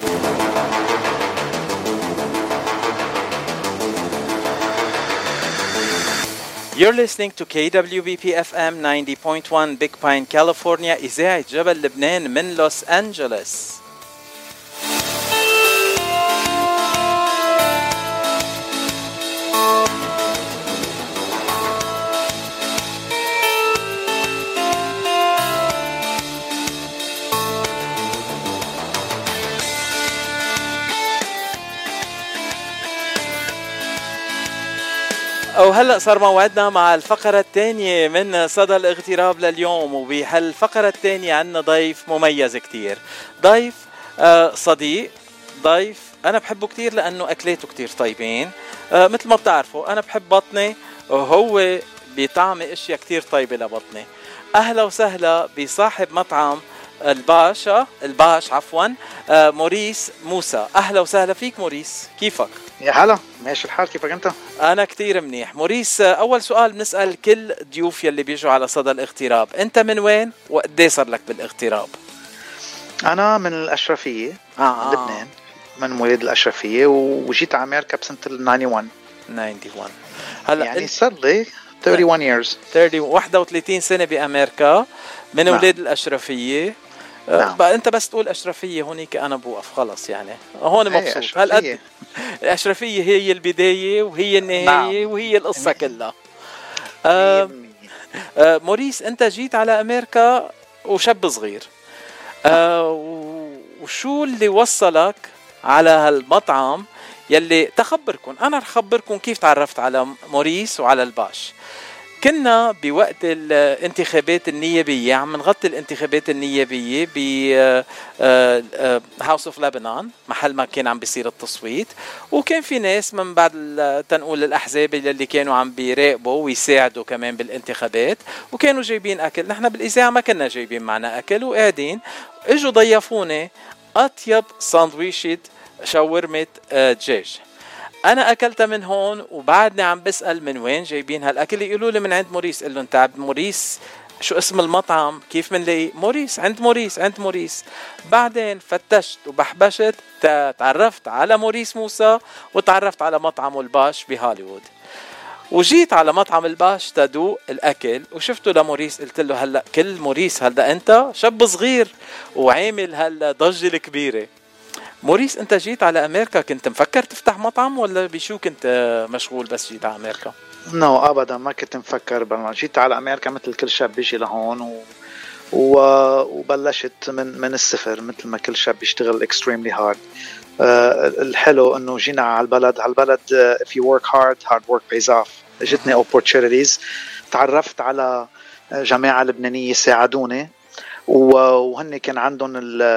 You're listening to KWBP FM 90.1 Big Pine, California, إذاعة جبل لبنان من لوس أنجلوس. وهلأ صار موعدنا مع الفقرة الثانية من صدى الاغتراب لليوم، وبهالفقرة الثانية عنا ضيف مميز كتير، ضيف صديق، ضيف أنا بحبه كتير لأنه أكلاته كتير طيبين. مثل ما بتعرفوا أنا بحب بطني، وهو بيطعمي أشياء كتير طيبة لبطني. أهلا وسهلا بصاحب مطعم الباش موريس موسى. أهلا وسهلا فيك موريس، كيفك؟ يا هلا، ماشي الحال، كيفك انت؟ انا كتير منيح. موريس، اول سؤال بنسأل كل ضيوف يلي بيجوا على صدى الاغتراب، انت من وين وقديه صار لك بالاغتراب؟ انا من الاشرفيه، من لبنان، من مواليد الاشرفيه، وجيت على امريكا بسنه 91. هلا يعني صار لي 31 years 31 سنه بامريكا، من ولاد الاشرفيه. بقى انت بس تقول اشرفيه هونيك انا بوقف خلاص، يعني هون مبسوط. هالقد الاشرفيه هي البدايه وهي النهايه وهي القصه كلها. موريس، انت جيت على امريكا وشاب صغير، وشو اللي وصلك على هالمطعم يلي تخبركم؟ انا رح خبركم كيف تعرفت على موريس وعلى الباش. كنا بوقت الانتخابات النيابية، عم نغطي الانتخابات النيابية ب هاوس اوف لبنان، محل ما كان عم بيصير التصويت، وكان في ناس من بعد تنقول الأحزاب اللي كانوا عم بيراقبوا ويساعدوا كمان بالانتخابات، وكانوا جايبين أكل. نحن بالإذاعة ما كنا جايبين معنا أكل، وقاعدين اجوا ضيفوني أطيب ساندويشة شاورمة دجاج. أنا أكلتها من هون، وبعدني عم بسأل من وين جايبين هالأكل. يقولوا لي من عند موريس. قل له أنت عبد موريس، شو اسم المطعم؟ كيف منلاقي موريس؟ عند موريس. بعدين فتشت وبحبشت، تعرفت على موريس موسى، وتعرفت على مطعم الباش بهوليوود، وجيت على مطعم الباش تدوق الأكل، وشفته لموريس. قلت له هلأ كل موريس، هلأ أنت شاب صغير وعامل هالضجة الكبيرة. موريس، انت جيت على امريكا كنت مفكر تفتح مطعم، ولا بشو كنت مشغول بس جيت على امريكا؟ ابدا ما كنت مفكر. جيت على امريكا مثل كل شاب بيجي لهون وبلشت من الصفر، مثل ما كل شاب بيشتغل extremely hard. الحلو انه جينا على البلد if you work hard work pays off. اجتني opportunities، تعرفت على جماعة لبنانية ساعدوني، وهن كان عندهم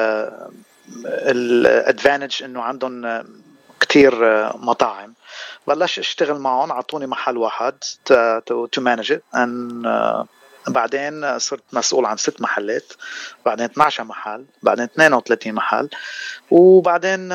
الادفانتج انه عندهم كتير مطاعم. بلش اشتغل معهم، عطوني محل واحد to manage it، بعدين صرت مسؤول عن 6 محلات، بعدين 12 محل، بعدين 32 محل، وبعدين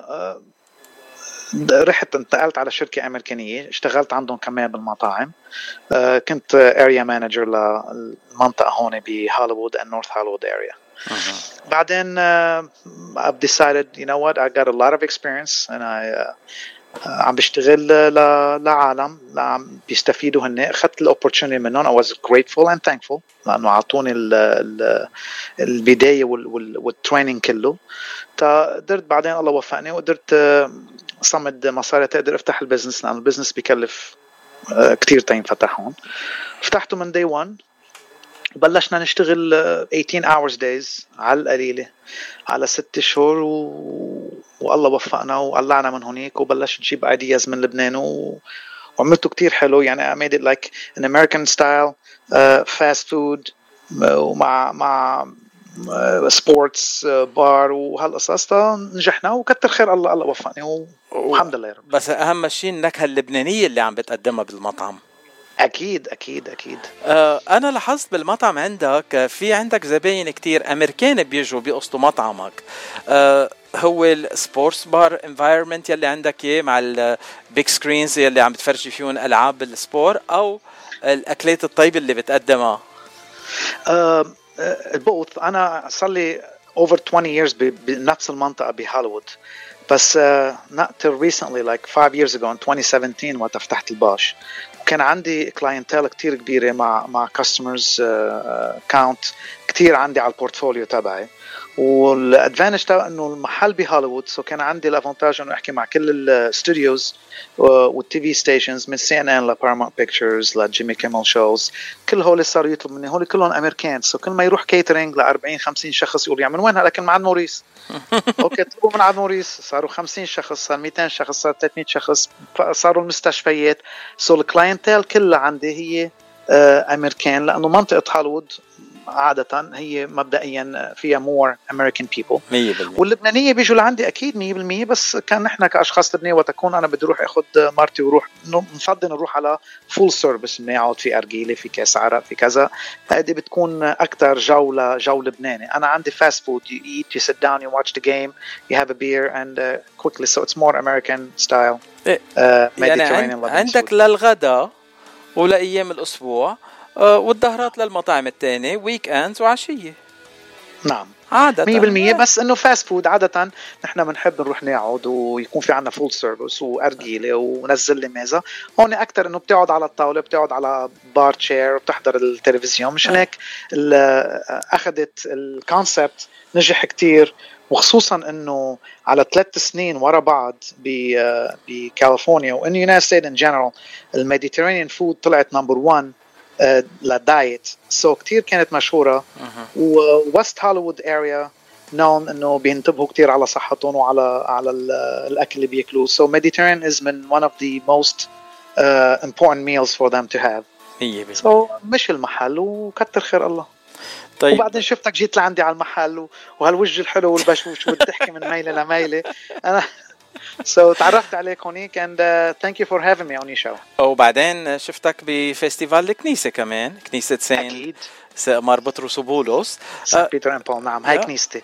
رحت انتقلت على شركة أمريكانية، اشتغلت عندهم كمان بالمطاعم. كنت area manager للمنطقة هون بهوليوود and North Hollywood area. بعدين I've decided, you know what, I got a lot of experience and عم بشتغل لعالم عم بيستفيدوا هن. أخذت الopportunity منهم. I was grateful and thankful لأنه عطوني البداية والtraining كله. قدرت بعدين الله وفقني وقدرت صمد مصاري تقدر افتح البزنس، لأن البزنس بيكلف كتير تينفتحون. فتحته من day one، بلشنا نشتغل 18 hours days على القليلة على 6 شهور، والله وفقنا وقلعنا من هونيك، وبلشت نجيب ideas من لبنان وعملته كتير حلو. يعني I made it like an American style fast food ومع سبورتس بار وهالقصص. نجحنا وكتر خير الله وفقني والحمد لله يا رب. بس أهم شيء النكهة اللبنانية اللي عم بتقدمها بالمطعم. أكيد. أنا لاحظت بالمطعم عندك زباين كتير أمريكان بيجوا بيقصدوا مطعمك. هو السبورتس بار انفايرمنت يلي عندك إيه مع البيك سكرينز يلي عم بتفرجي فيهم ألعاب السبور، أو الأكلات الطيبة اللي بتقدمها؟ البوث. أنا صار لي over 20 years بنفس المنطقة بهوليوود. بس not till recently like 5 years ago in 2017 وقت فتحت الباش، وكان عندي كلاينتيل كتير كبيرة مع customers count كتير عندي على البورتفوليو تبعي. والادفانتج تاع انه المحل بهوليوود، سو كان عندي الافونتاج انه احكي مع كل الاستوديوز والتي في ستيشنز من سي ان ان لبارامونت بيكتشرز لجيمي كيمل شوز، كل هول صاروا يطلب مني، هول كلهم امريكان. سو كل ما يروح كيترينج ل 40 50 شخص يقول يعني من وين هذا؟ لكن مع موريس. اوكي طلبوا من عند موريس، صاروا 50 شخص، صار 200 شخص، صار 300 شخص، صاروا المستشفيات. سو الكلاينتيل كلها عندي هي امريكان، لانه منطقه هوليوود عادة هي مبدئيا فيها more American people. 100%. واللبنانية بيجوا لعندي أكيد 100%، بس كان نحن كأشخاص لبنانية وتكون أنا بدي أروح أخذ مرتي وروح، نفضل نروح على full service، بنقعد في أرجيلة، في كاس عرق، في كذا. هذه بتكون أكتر جو لبناني. أنا عندي fast food, you eat, you sit down, you watch the game, you have a beer and quickly, so it's more American style. يعني عندك للغدا ولأيام الأسبوع والظهرات للمطاعم التانية، ويك اندز وعشية. نعم عادة 100%. بس انه فاست فود عادة نحن بنحب نروح نقعد ويكون في عنا فول سيرفيس وأرجيلة ونزل لي ميزة. هون أكتر انه بتقعد على الطاولة، بتقعد على بار تشير وبتحضر التلفزيون. مش هيك أخذت الكونسبت نجح كتير، وخصوصا انه على 3 سنين ورا بعض بكاليفورنيا وإن يونايتد ستيت ان جنرال الميديترينيان فود طلعت نمبر 1 للدايت. سو كتير كانت مشهورة. ووست هوليوود اريا نون انه بينتبهوا كتير على صحتهم وعلى الاكل اللي بياكلوه. سو Mediterranean is one of the most important meals for them to have. سو مش المحل وكتر خير الله. طيب. وبعدين شفتك جيت لعندي على المحل وهالوجه الحلو والبشوش والضحكة من ميلة لميلة. أنا so تعرفت عليك هونيك and thank you for having me on your show. وبعدين شفتك بفestival الكنيسة كمان، كنيسة سين مار بطرس وبولس، سان بيتر اند بول. نعم هاي كنيستي.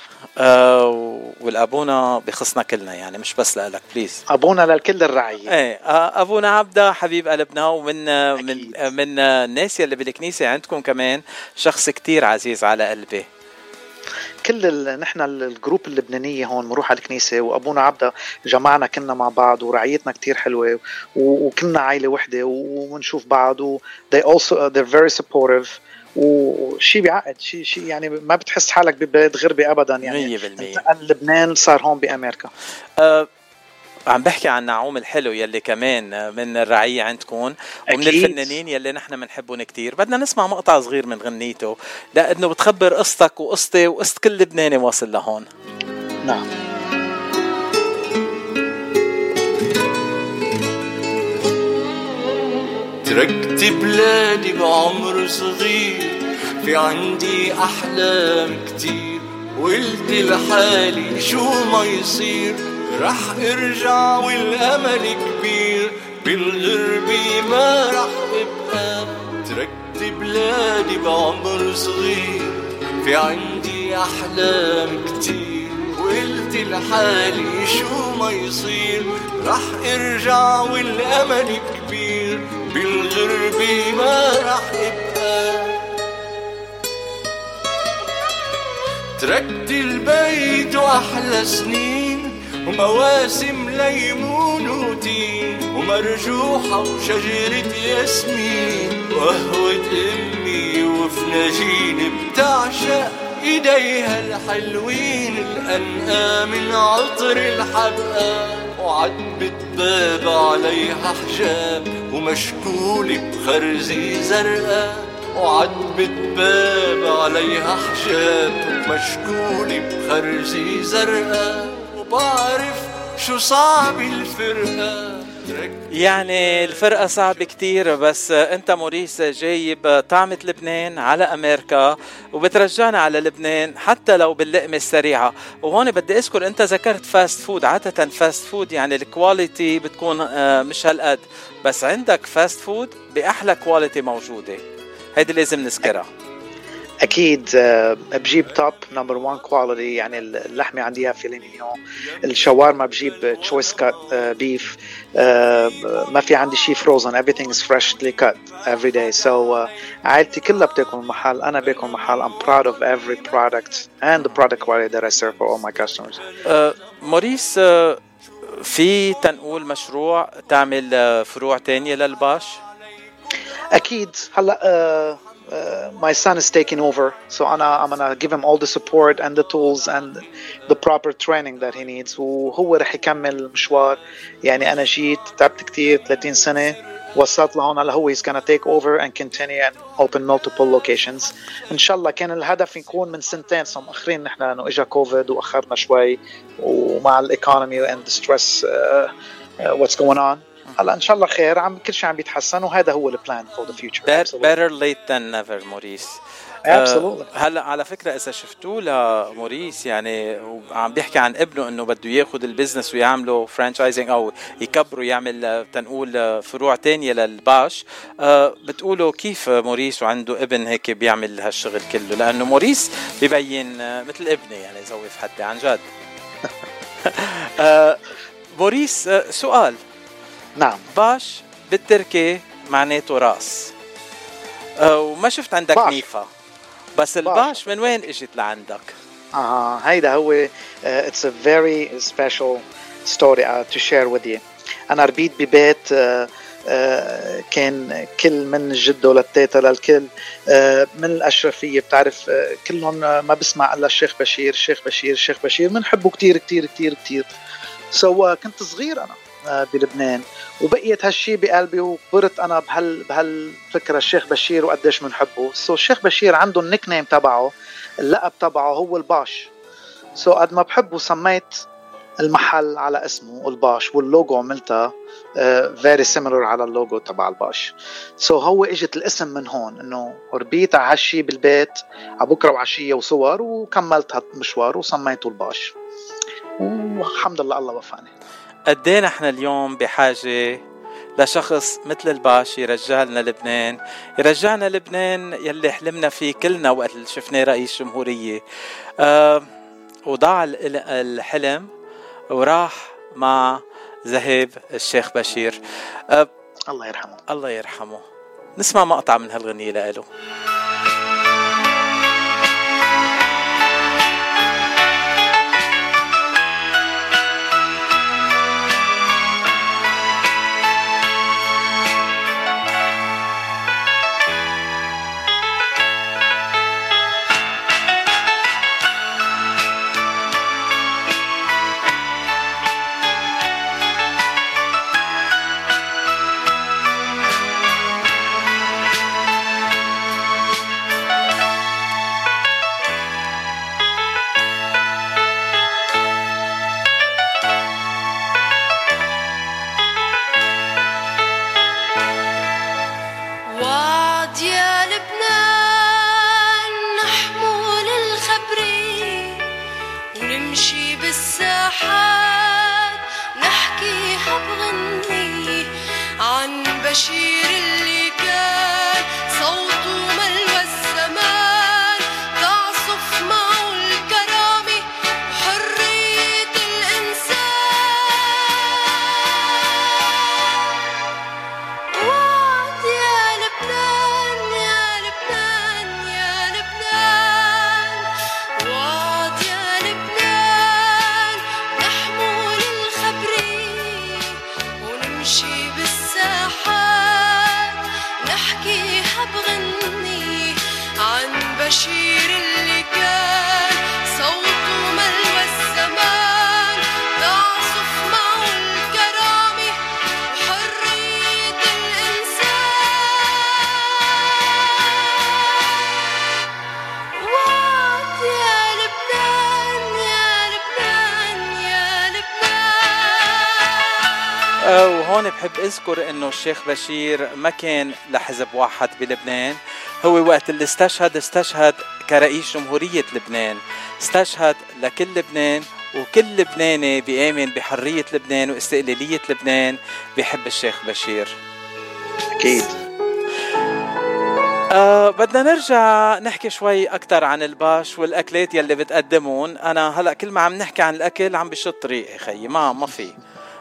والابونا بخصنا كلنا يعني، مش بس لك بليز. ابونا للكل الرعيه. ايه ابونا عبده حبيب قلبنا، ومن من الناس اللي بالكنيسه عندكم كمان شخص كتير عزيز على قلبي. كل نحن الجروب اللبنانيه هون بنروح على الكنيسه، وابونا عبده جمعنا كنا مع بعض ورعيتنا كتير حلوه، وكنا عائله وحده ونشوف بعض و they're very supportive. وشي بيعقد شي يعني ما بتحس حالك ببلد غربي ابدا يعني. 100% لبنان صار هون بامريكا. عم بحكي عن نعوم الحلو يلي كمان من الرعية عندكم ومن أكيد. الفنانين يلي نحن بنحبهم كتير. بدنا نسمع مقطع صغير من غنيته لأنه بتخبر قصتك وقصتي وقصة كل لبناني واصل لهون. نعم. تركت بلادي بعمر صغير، في عندي أحلام كتير، قلت لحالي شو ما يصير رح ارجع والأمل كبير، بالغربة ما رح ابقى. تركت بلادي بعمر صغير، في عندي أحلام كتير، قلت لحالي شو ما يصير رح ارجع والأمل كبير، بالغربة ما رح ابقى. تركت البيت وأحلى سنين ومواسم ليمون وتين ومرجوحة وشجرة ياسمين وقهوة أمي وفناجين بتعشق إيديها الحلوين، الأنقى من عطر الحبقى وعتبة باب عليها حجاب ومشكولة بخرزي زرقاء، وعتبة باب عليها حجاب ومشكولة بخرزي زرقاء، وبعرف شو صعب الفرقة. يعني الفرقة صعب كتير، بس انت موريس جايب طعمة لبنان على امريكا وبترجعنا على لبنان حتى لو باللقمة السريعة. وهون بدي اذكر انت ذكرت فاست فود، عادة فاست فود يعني الكواليتي بتكون مش هالقد، بس عندك فاست فود بأحلى كواليتي موجودة، هيدي لازم نذكرها. اكيد بجيب توب نمبر 1 كواليتي، يعني اللحمه عندي فيليه مينيون، الشاورما بجيب تشويس كات بيف، ما في عندي شيء فروزن، everything is freshly cut every day. So عائلتي كلها بتاكل محل، انا باكل محل. I'm proud of every product and the product quality that I serve for all my customers. موريس، في تنقول مشروع تعمل فروع تانية للباش؟ اكيد. هلا my son is taking over, so I'm gonna give him all the support and the tools and the proper training that he needs. وهو رح يكمل المشوار. يعني أنا جيت تعبت كتير 30 سنة، وصلت لهون. هلا هو he's gonna take over and continue and open multiple locations. إن شاء الله. كان الهدف يكون من سنتين، صار مؤخرين نحن لأنه إجا كوفيد وأخرنا شوي، ومع الإيكونومي and the stress what's going on. هلا ان شاء الله خير، كل شيء عم بيتحسن، وهذا هو البلان for the future. Better late than never موريس. هلا على فكره اذا شفتوه لموريس، يعني عم بيحكي عن ابنه انه بده ياخذ البزنس ويعمله فرانشايزنج او يكبره، يعمل تنقول فروع تانية للباش. بتقولوا كيف موريس وعنده ابن هيك بيعمل هالشغل كله؟ لانه موريس ببين مثل ابني، يعني زوي في حدي عن جد. موريس، سؤال. نعم. باش بالتركي معناته راس، وما شفت عندك باش. نيفا، بس الباش من وين اجت لعندك؟ هيدا هو it's a very special story to share with you. أنا ربيت ببيت كان كل من جده للتيتا للكل من الأشرفية، بتعرف كلهم ما بسمع إلا الشيخ بشير الشيخ بشير الشيخ بشير، منحبه كتير كتير كتير كتير. كنت صغير أنا بلبنان، وبقيت هالشي بقلبي، وكبرت أنا بهالفكرة الشيخ بشير وقديش منحبه. الشيخ بشير عنده النيك نيم تبعه، اللقب تبعه هو الباش. قد ما بحبه سميت المحل على اسمه الباش، واللوجو عملتها very similar على اللوجو تبع الباش. هو اجت الاسم من هون، انه ربيت على هالشي بالبيت على بكره وعشيه وصور، وكملت هالمشوار وسميته الباش، والحمد لله الله وفقني. قدينا احنا اليوم بحاجة لشخص مثل الباش يرجعنا لبنان، يرجعنا لبنان يلي حلمنا فيه كلنا وقت اللي شفناه رئيس جمهورية. وضاع الحلم وراح مع ذهب الشيخ بشير. الله يرحمه. الله يرحمه. نسمع مقطع من هالغنية لإله. وهون بحب اذكر انه الشيخ بشير ما كان لحزب واحد بلبنان. هو وقت اللي استشهد كرئيس جمهورية لبنان، استشهد لكل لبنان، وكل لبناني بيآمن بحرية لبنان واستقلالية لبنان بيحب الشيخ بشير. أكيد. بدنا نرجع نحكي شوي أكتر عن الباش والأكلات يلي بتقدمون. أنا هلأ كل ما عم نحكي عن الأكل عم بشط طريقي خيي، ما في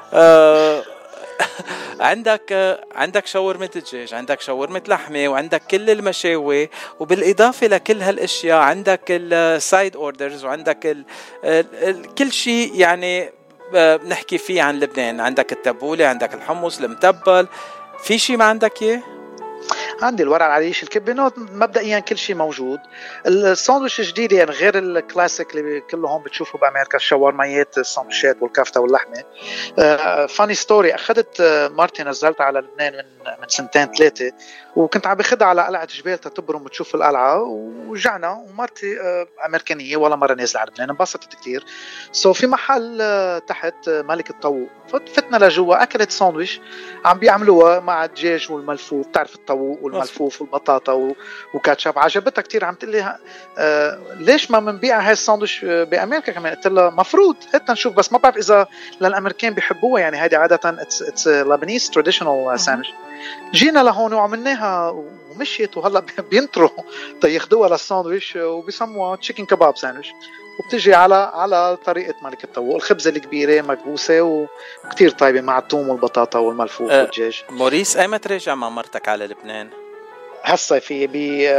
عندك شاورمة الدجاج، عندك شاورمة لحمة، وعندك كل المشاوي، وبالإضافة لكل هالأشياء عندك السايد اوردرز، وعندك كل شيء يعني بنحكي فيه عن لبنان. عندك التبولة، عندك الحمص المتبل، في شيء ما عندك اياه؟ عندي الورق العريش، الكبة، مبدئيا كل شيء موجود. الساندويش الجديد يعني غير الكلاسيك اللي كلهم بتشوفوا بأمريكا، الشاورميات، الساندويشات والكفتة واللحمة. فاني ستوري، أخذت مرتي نزلت على لبنان من سنتين 3، وكنت عم بخدها على قلعة جبال تتبرم وتشوف القلعة، ورجعنا ومرتي أمريكانية ولا مرة نازلة على لبنان، انبسطت كتير. في محل تحت ملك الطاووق، فتنا لجوا، أكلت ساندويش عم بيعملوها مع الدجاج والملفوف، تعرف الطاووق والملفوف والبطاطا وكاتشب. عجبتها كتير، عم تقلي ليش ما منبيع هاي الساندويش بأمريكا كمان؟ قلت لها مفروض حتى نشوف، بس ما بعرف إذا للأمريكان بيحبوها، يعني هيدي عادة it's Lebanese traditional sandwich. جينا لهون وعملناها ومشيت، وهلا بينطروا تياخدوها للساندويش وبيسموها تشيكن كباب ساندويش، وبتجي على طريقة ملك الطاووق، الخبزة الكبيرة مكبوسة وكتير طيبة مع الثوم والبطاطا والملفوف والدجاج. موريس، ايمت ترجع مع مرتك على لبنان؟ هالصيفية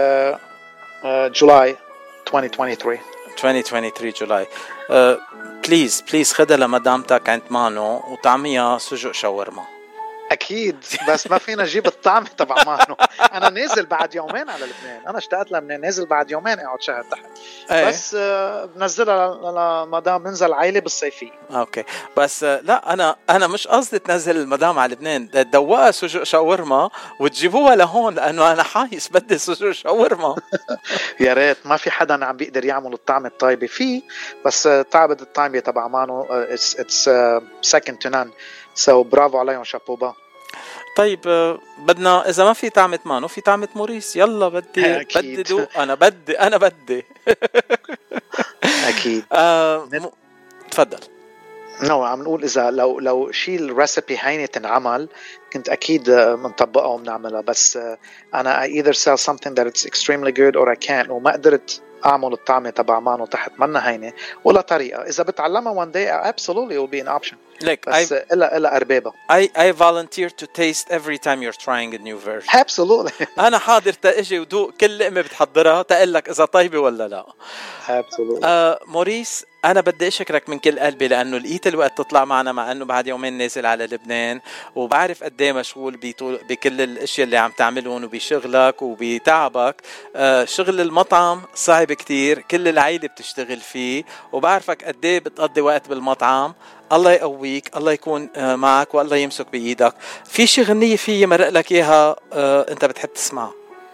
جولاي 2023 جولاي. بليز خدها لمدامتك عند مانو وطعميها سجق شاورما. اكيد، بس ما فينا نجيب الطعم تبع مانو. انا نازل بعد يومين على لبنان، انا اشتقت لبنان، نازل بعد يومين اقعد شهر تحت. بس بنزلها لمدام، ننزل عائله بالصيفيه. اوكي، بس لا انا مش قصدي تنزل المدام على لبنان، تدوقها سجق شاورما وتجيبوها لهون، لانه انا حايس بدي سجق شاورما. يا ريت، ما في حدا عم بيقدر يعمل الطعم الطيبه فيه، بس تعبت الطعمه تبع مانو it's second to none. برافو عليهم، شابوبا. طيب بدنا، اذا ما في طعمة مانو في طعمة موريس، يلا بدي دوق. انا بدي اكيد. تفضل. عم نقول اذا لو شيء الريسبي هينه تنعمل كنت اكيد منطبقها وبنعملها، بس انا I either sell something that it's extremely good or I can't، وما قدرت اعمل الطعمه تبع مانو تحت منا هينه ولا طريقه. اذا بتعلمها one day absolutely it will be an option. بس إلا أربابة. I volunteer to taste every time you're trying a new version. Absolutely. أنا حاضر تأجي ودوق كل لقمة بتحضرها تقلك إذا طيبة ولا لا. Absolutely. موريس، أنا بدي أشكرك من كل قلبي، لأنه لقيت الوقت تطلع معنا، مع أنه بعد يومين نازل على لبنان، وبعرف قديه مشغول بكل الأشياء اللي عم تعملون وبشغلك وبتعبك. شغل المطعم صعب كتير، كل العائلة بتشتغل فيه، وبعرفك قديه بتقضي وقت بالمطعم. الله يقويك، الله يكون معك، والله يمسك بإيدك. في شي غنية فيه مرق لك إياها أنت بتحب تسمعها؟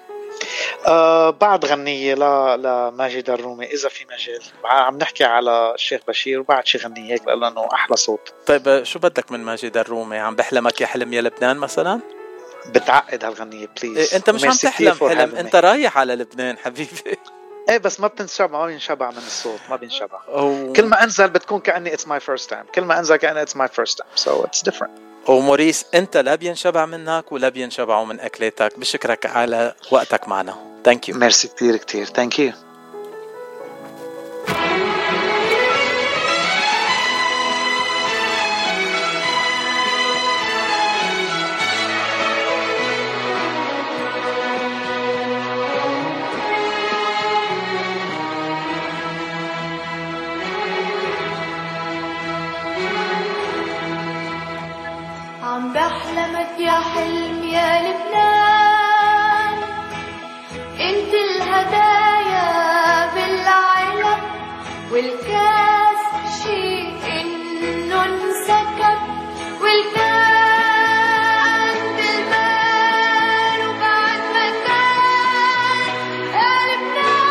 بعد غنية لماجد الرومي إذا في مجال. عم نحكي على الشيخ بشير، وبعد شي غنية هيك لأنه أحلى صوت. طيب شو بدك من ماجد الرومي؟ عم بحلمك يا حلم يا لبنان مثلا؟ بتعقد هالغنية بليز. أنت مش عم تحلم حلم، أنت رايح على لبنان حبيبي. بس ما بينشبع من الصوت، ما بينشبع. كل ما انزل بتكون كأني it's my first time، كل ما انزل كأني it's my first time، so it's different. وموريس، انت لا بينشبع منك ولا بينشبعوا من اكلاتك. بشكرك على وقتك معنا. thank you. ميرسي كتير thank you. عم بحلمك يا حلم يا لبنان، انت الهدايا بالعلب والكاس شيء انه انسكب، والكان بالبال وبعد مكان يا لبنان.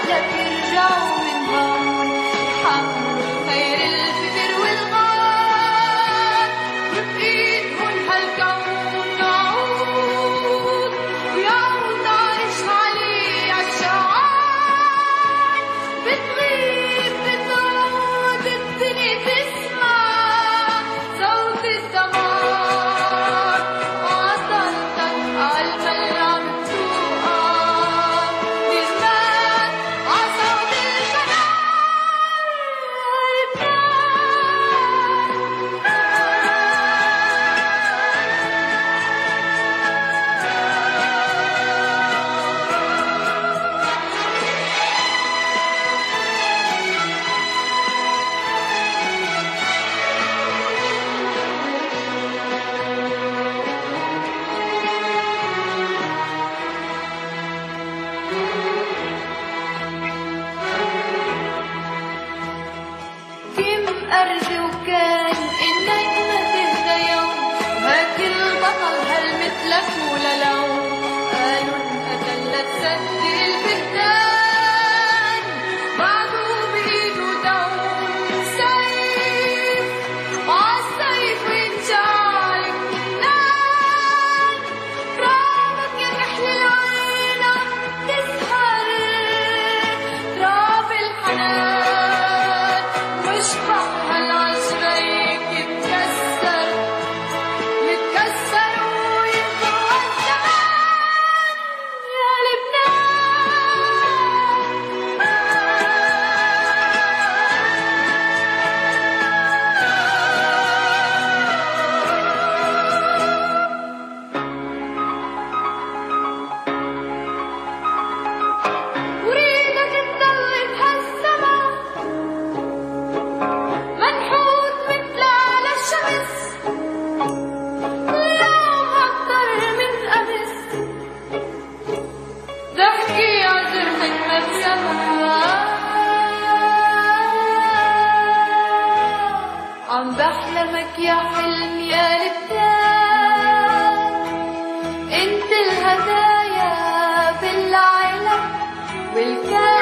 لك يرجعوا من هون يحملوا خير الفكر والغار وبإيدهم هالكون نعود ويعود عايش عليه عالشعار بتغيب بتعود الدنيا تسمع صوت السماء وعطلتك عالمل عم تسوقك بزمان عصوت البنات كم أرجو كان إنك ما تهدى يوم وهاك البطل هل مثلك ولا لون قالوا انقتل لتسدي البهتان بعده بإيده دوم سيف وعالسيف ينجعل النان رابك يا محل العين عم تسهر راب الحنان مشبع هالعشريك يتكسر وينطوى الزمان يا لبنان وريدك تضل بهالسما منحوت مثل على الشمس اليوم أكتر من أمس ضحكي عذرتك مبسمة عم بحلمك يا حلم يا لبنان انت الهدايا بالعلم والكلام